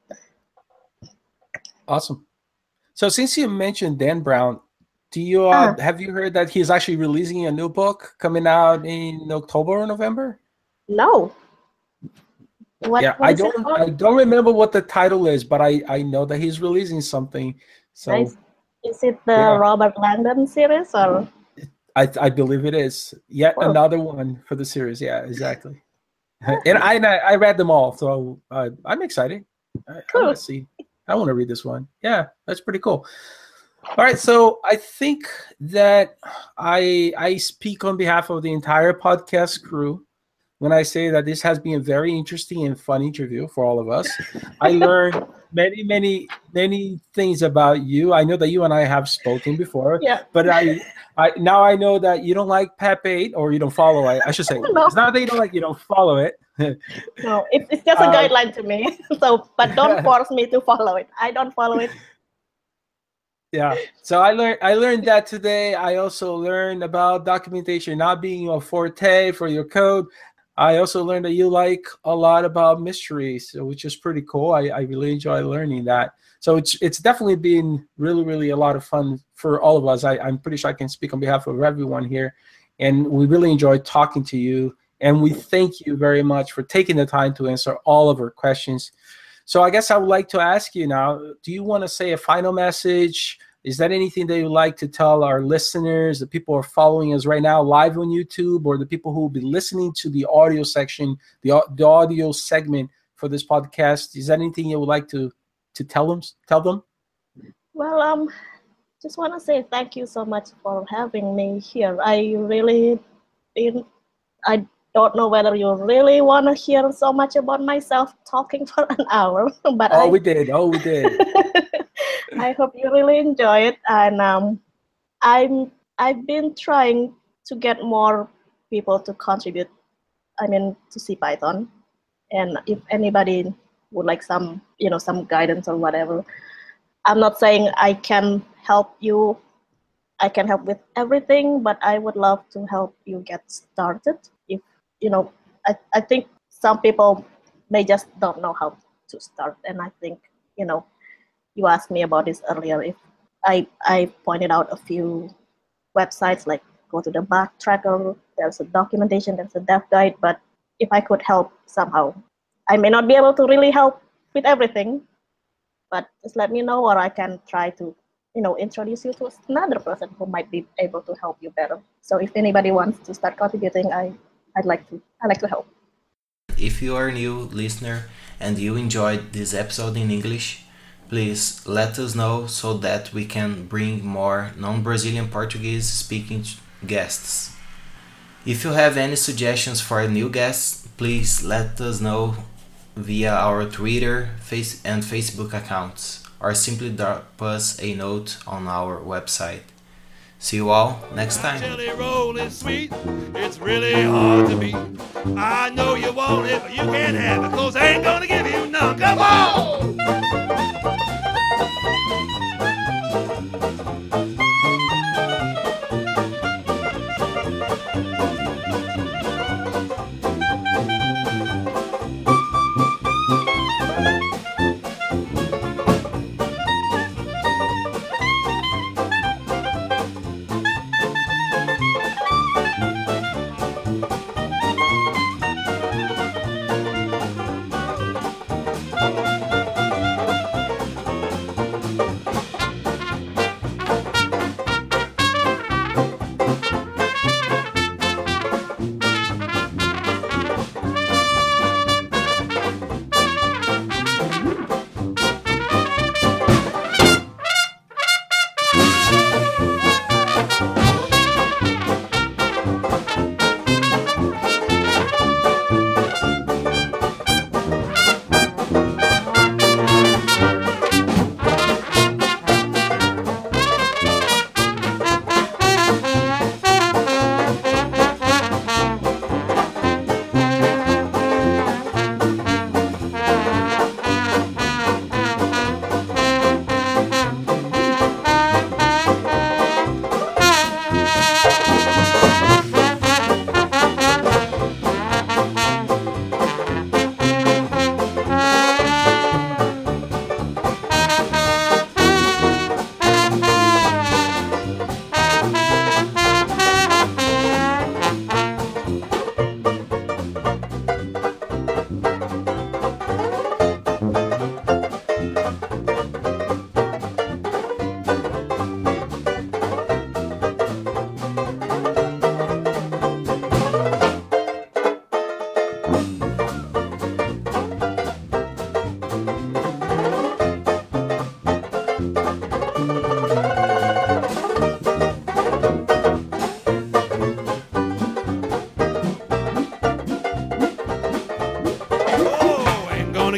Awesome. So since you mentioned Dan Brown, do you uh, Uh-huh. have you heard that he's actually releasing a new book coming out in October or November? No. What, Yeah, what I is it don't called? I don't remember what the title is, but I I know that he's releasing something. So Nice. Is it the yeah. Robert Langdon series or? I I believe it is yet Cool. another one for the series. Yeah, exactly. And I and I, I read them all, so uh, I'm excited. I, I Cool. want to see. I want to read this one. Yeah, that's pretty cool. All right, so I think that I I speak on behalf of the entire podcast crew when I say that this has been a very interesting and fun interview for all of us. I learned many, many, many things about you. I know that you and I have spoken before, Yeah. but I, I now I know that you don't like Pep eight, or you don't follow it. I should say No. it's not that you don't like, you don't follow it. No, it's, it's just a Uh, guideline to me. So, but don't force me to follow it. I don't follow it. Yeah. So I learned I learned that today. I also learned about documentation not being your forte for your code. I also learned that you like a lot about mysteries, so which is pretty cool. I, I really enjoy learning that. So it's it's definitely been really, really a lot of fun for all of us. I, I'm pretty sure I can speak on behalf of everyone here. And we really enjoyed talking to you. And we thank you very much for taking the time to answer all of our questions. So I guess I would like to ask you now, do you want to say a final message? Is that anything that you'd like to tell our listeners, the people who are following us right now live on YouTube, or the people who will be listening to the audio section, the, au- the audio segment for this podcast? Is that anything you would like to, to tell them? Tell them? Well, um, just want to say thank you so much for having me here. I really, been, I don't know whether you really want to hear so much about myself talking for an hour, but Oh, I, we did. Oh, we did. I hope you really enjoy it. And um, I'm I've been trying to get more people to contribute. I mean, to CPython. And if anybody would like some, you know, some guidance or whatever, I'm not saying I can help you. I can help with everything, but I would love to help you get started. If you know, I, I think some people may just don't know how to start, and I think, you know, you asked me about this earlier. If I I pointed out a few websites, like go to the Backtracker, there's a documentation, there's a dev guide, but if I could help somehow, I may not be able to really help with everything, but just let me know, or I can try to, you know, introduce you to another person who might be able to help you better. So if anybody wants to start contributing, I I'd like to I like to help. If you are a new listener and you enjoyed this episode in English, please let us know so that we can bring more non-Brazilian Portuguese speaking guests. If you have any suggestions for new guests, please let us know via our Twitter, Face and Facebook accounts, or simply drop us a note on our website. See you all next time. Jelly roll is sweet, it's really hard to beat. I know you want it, but you can't have it, 'cause I ain't gonna give you none. Come on!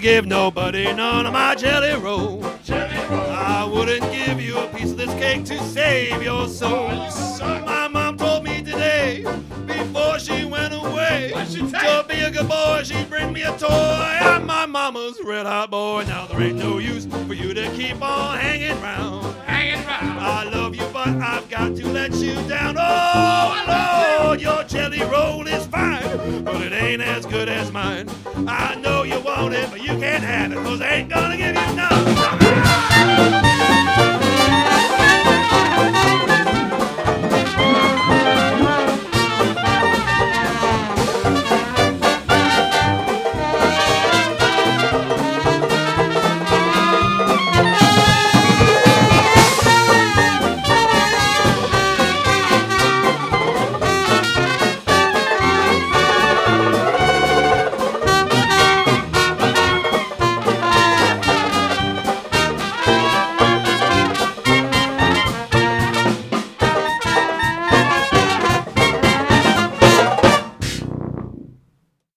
gonna give nobody none of my jelly roll. Jelly roll. I wouldn't give you a piece of this cake to save your soul. My mom told me today, before she went away, to be a good boy, she'd bring me a toy. I'm my mama's red hot boy. Now there ain't no use for you to keep on hanging round. Hanging round. I love you, but I've got to let you down. Oh, Lord, your jelly roll is fine, but it ain't as good as mine. I know you want it, but you can't have it, 'cause I ain't gonna give you none.